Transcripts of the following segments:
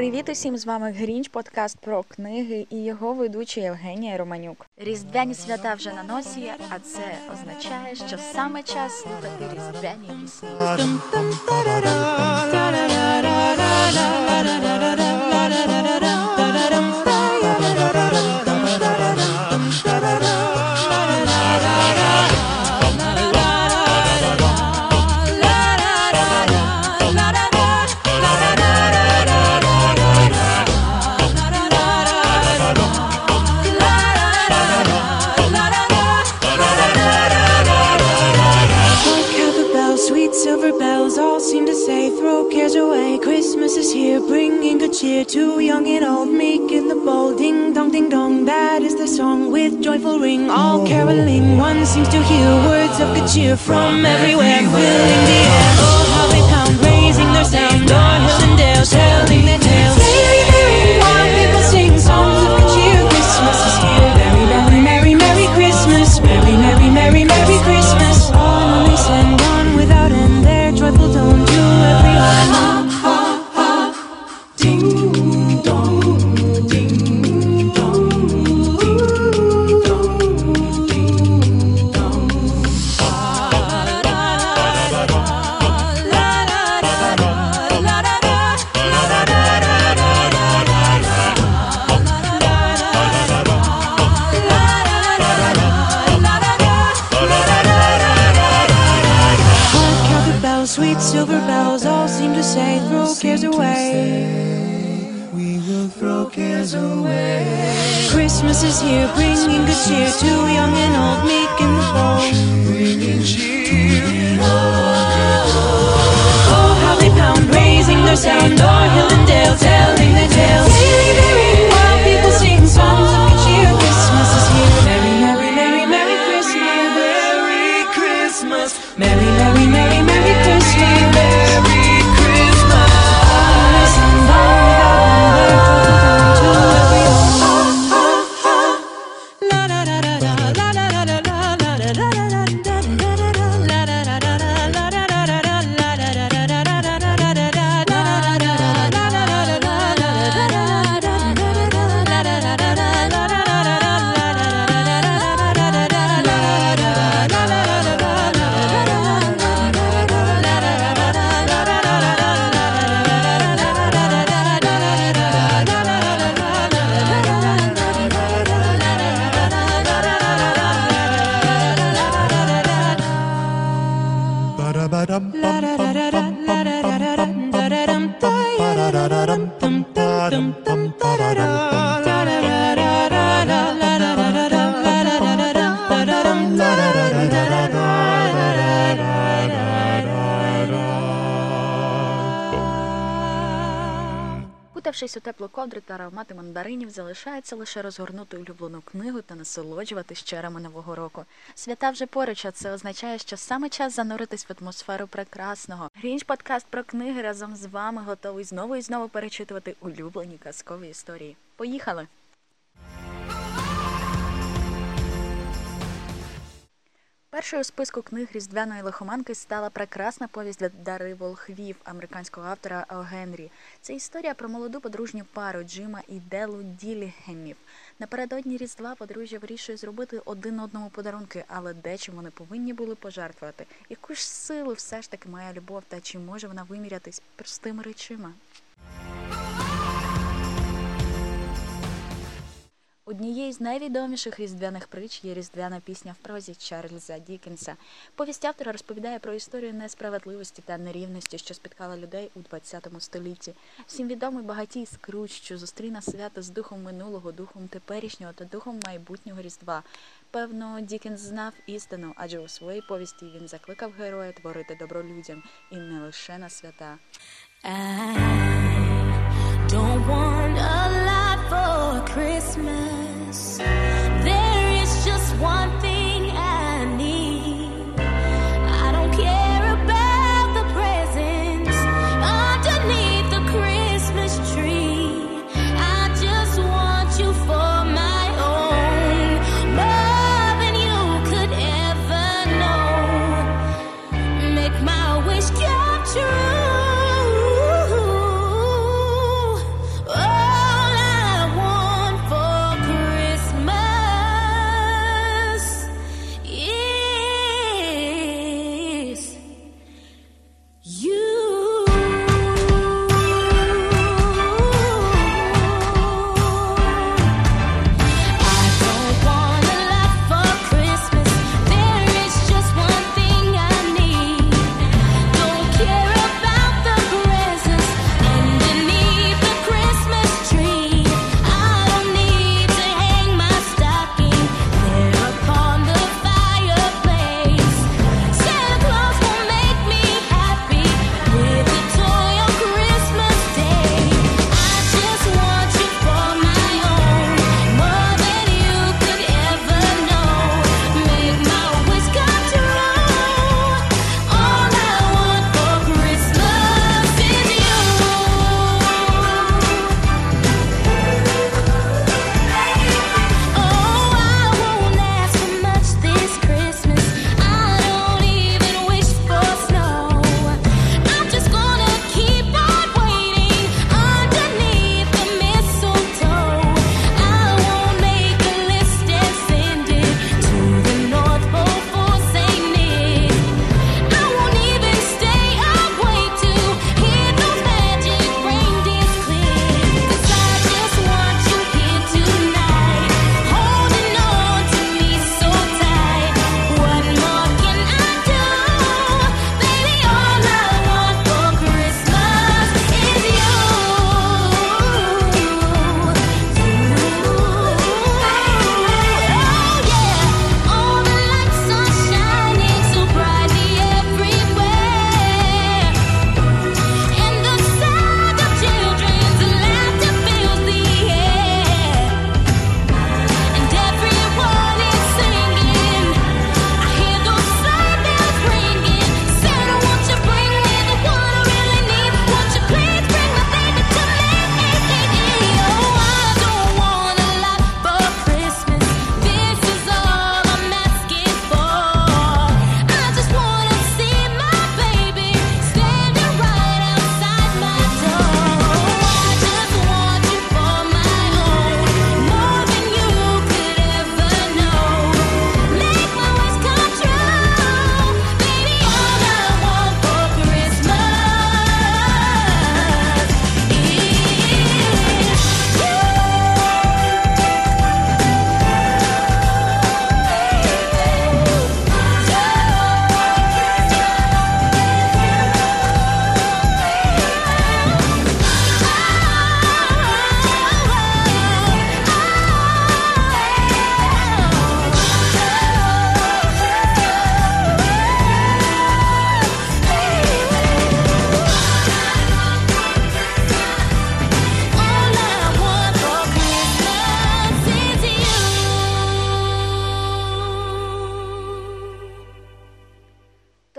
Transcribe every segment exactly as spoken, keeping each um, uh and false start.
Привіт усім, з вами Грінч, подкаст про книги і його ведуча Євгенія Романюк. Різдвяні свята вже на носі, а це означає, що саме час слухати різдвяні пісні. Silver bells all seem to say, throw cares away. Christmas is here, bringing good cheer to young and old, meek and the bold. Ding dong, ding dong, that is the song with joyful ring. All caroling, one seems to hear words of good cheer from everywhere, filling the air. Oh, how they pound, raising their sound, o'er hill and dale, telling their tales. Merry, merry, while people sing songs of good cheer. Christmas is here, very, very, merry, merry Christmas. Merry, merry, merry, merry Christmas. All nice and gone without end, their joyful tone to everyone. Ha, ha, ha. Ding dong, ding dong, ding dong, ding dong. La la la la la la la la la sweet silver bells all seem to say, throw cares away. We will throw cares away. Christmas is here, bringing good cheer to young and old, meek and the bold. Bringing cheer. Oh, how they pound, raising their sound, o'er hill and dale, telling their tales. Merry, merry, while people sing songs of good cheer. Christmas is here, merry, merry, merry, merry Christmas. Merry Christmas. Merry, merry, merry, merry Christmas. Merry Christmas. Listen, bow without to everyone. La la la la la la la la la la la la Кутавшись у теплу ковдру та аромати мандаринів, залишається лише розгорнути улюблену книгу та насолоджуватись чарами Нового року. Свята вже поруч, а це означає, що саме час зануритись в атмосферу прекрасного. Грінч подкаст про книги разом з вами готовий знову і знову перечитувати улюблені казкові історії. Поїхали! Першою у списку книг різдвяної лихоманки стала прекрасна повість «Дари волхвів» американського автора О. Генрі. Це історія про молоду подружню пару Джима і Делу Ділігемів. Напередодні Різдва подружжя вирішує зробити один одному подарунки, але дечим вони повинні були пожертвувати. Яку ж силу все ж таки має любов, та чи може вона вимірятись простими речима? Однією з найвідоміших різдвяних притч є різдвяна пісня в прозі Чарльза Дікенса. Повість автора розповідає про історію несправедливості та нерівності, що спіткала людей у ХХ столітті. Всім відомий багатій Скрудж, що зустріне свято з духом минулого, духом теперішнього та духом майбутнього Різдва. Певно, Дікенс знав істину, адже у своїй повісті він закликав героя творити добро людям і не лише на свята. I don't want a lot for Christmas. There is just one thing I need. I don't care about the presents underneath the Christmas tree. I just want you for my own, more than you could ever know. Make my wish come true.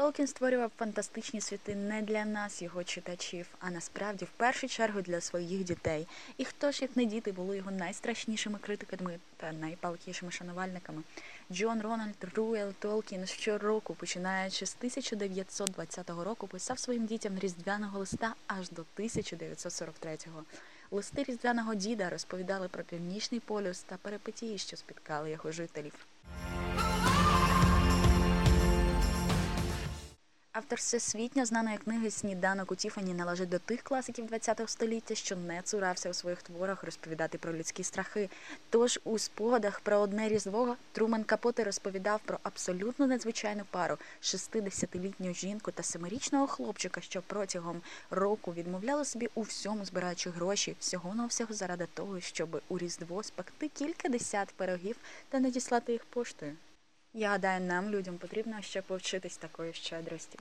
Толкін створював фантастичні світи не для нас, його читачів, а насправді в першу чергу для своїх дітей. І хто ж, як не діти, були його найстрашнішими критиками та найпалкішими шанувальниками. Джон Рональд Руел Толкін щороку, починаючи з тисяча дев'ятсот двадцятого року, писав своїм дітям різдвяного листа аж до тисяча дев'ятсот сорок третього. Листи різдвяного діда розповідали про Північний полюс та перипетії, що спіткали його жителів. Автор всесвітньо знаної книги «Сніданок у Тіфані» належить до тих класиків ХХ століття, що не цурався у своїх творах розповідати про людські страхи. Тож у спогадах про одне Різдво Трумен Капоте розповідав про абсолютно надзвичайну пару – шістдесятилітню жінку та семирічного хлопчика, що протягом року відмовляли собі у всьому, збираючи гроші, всього-навсього заради того, щоб у Різдво спекти кілька десят пирогів та надіслати їх поштою. Я гадаю, нам, людям, потрібно ще повчитись такої щедрості.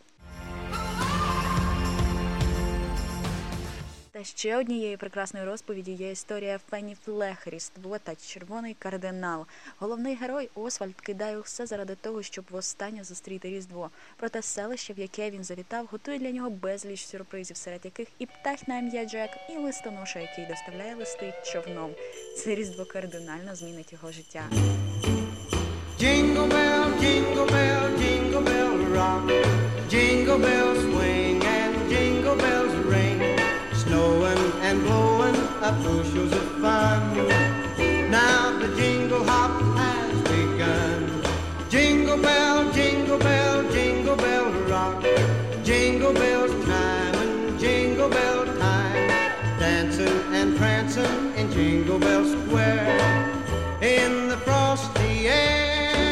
Та ще однією прекрасною розповіді є історія Фенні Флег «Різдво та червоний кардинал». Головний герой Освальд кидає все заради того, щоб востаннє зустріти Різдво. Проте селище, в яке він завітав, готує для нього безліч сюрпризів, серед яких і птах на ім'я Джек, і листоноша, який доставляє листи човном. Це Різдво кардинально змінить його життя. Jingle bell, jingle bell, jingle bell rock. Jingle bells swing and jingle bells ring. Snowing and blowing up bushels of fun. Now the jingle hop has begun. Jingle bell, jingle bell, jingle bell rock. Jingle bells time and jingle bell time. Dancing and prancing in Jingle Bell Square. In the frosty air.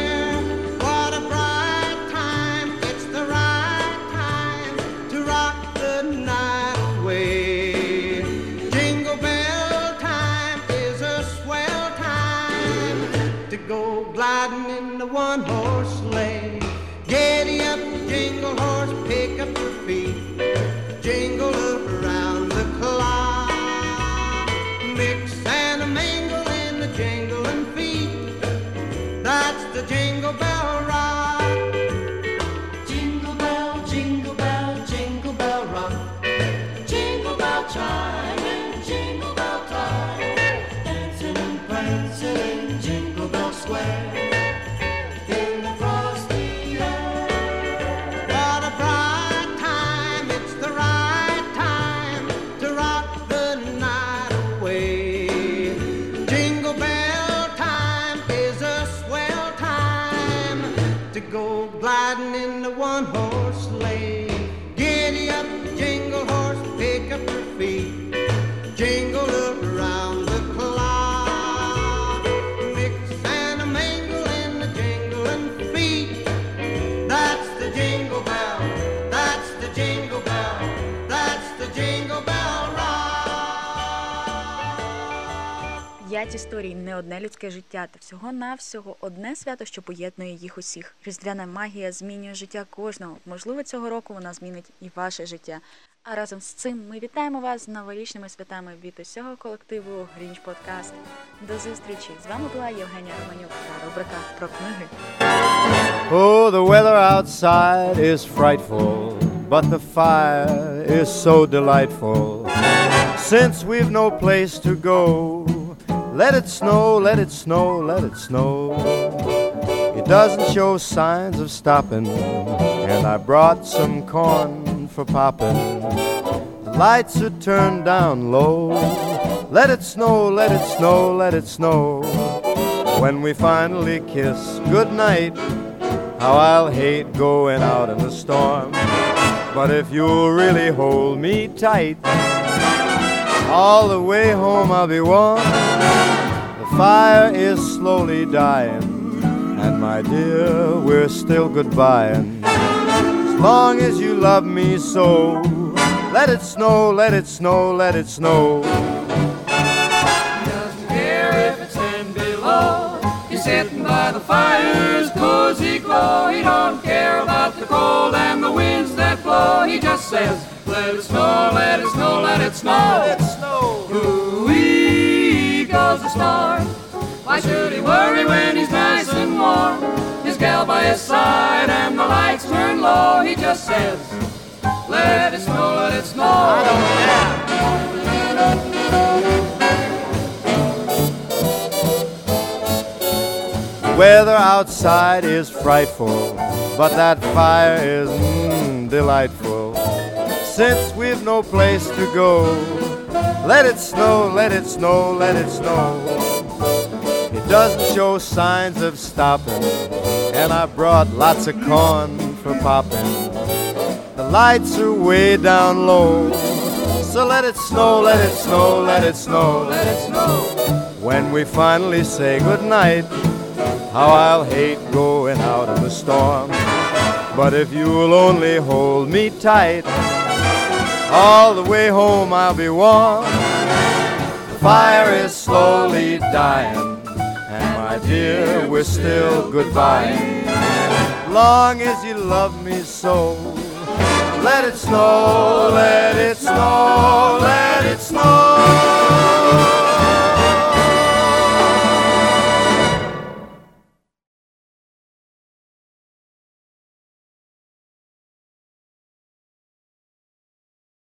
Gliding in the one-horse sleigh. Giddy up, jingle horse, pick up your feet. Jingle up around the clock. Mix and a mingle in the jingling feet. That's the Jingle Bell Rock. Jingle bell, jingle bell, jingle bell rock. Jingle bell chime and jingle bell time. Dancing and prancing in Jingle Bell Square. Gliding in the one-horse sleigh. Giddy up, jingle horse, pick up your feet. Jingle up around the clock. Mix and a mingle in the jingling feet. That's the jingle bell, that's the jingle bell, that's the Jingle Bell Rock. П'ять історій, не одне людське життя, та всього-навсього одне свято, що поєднує їх усіх. Різдвяна магія змінює життя кожного. Можливо, цього року вона змінить і ваше життя. А разом з цим ми вітаємо вас з новорічними святами від усього колективу Грінч Подкаст. До зустрічі! З вами була Євгенія Романюк та рубрика про книги. Oh, the weather outside is frightful, but the fire is so delightful. Since we've no place to go, let it snow, let it snow, let it snow. It doesn't show signs of stopping, and I brought some corn for popping. The lights are turned down low. Let it snow, let it snow, let it snow. When we finally kiss goodnight, how I'll hate going out in the storm. But if you'll really hold me tight, all the way home I'll be warm. The fire is slowly dying, and my dear, we're still goodbying. As long as you love me so, let it snow, let it snow, let it snow. He doesn't care if it's ten below. He's sitting by the fire's cozy glow. He don't care about the cold and the winds that blow. He just says, let it snow, let it snow, let it snow. Let it snow. Ooh-wee goes the star. Why should he worry when he's nice and warm? His gal by his side and the lights turn low, he just says, let it snow, let it snow. I don't care. Weather outside is frightful, but that fire is mm, delightful. Since we've no place to go, let it snow, let it snow, let it snow. It doesn't show signs of stopping, and I brought lots of corn for popping. The lights are way down low, so let it snow, let it snow, let it snow, let it snow. When we finally say goodnight, how I'll hate going out in the storm. But if you'll only hold me tight, all the way home I'll be warm. The fire is slowly dying, and my dear, we're still goodbye. Long as you love me so, let it snow, let it snow.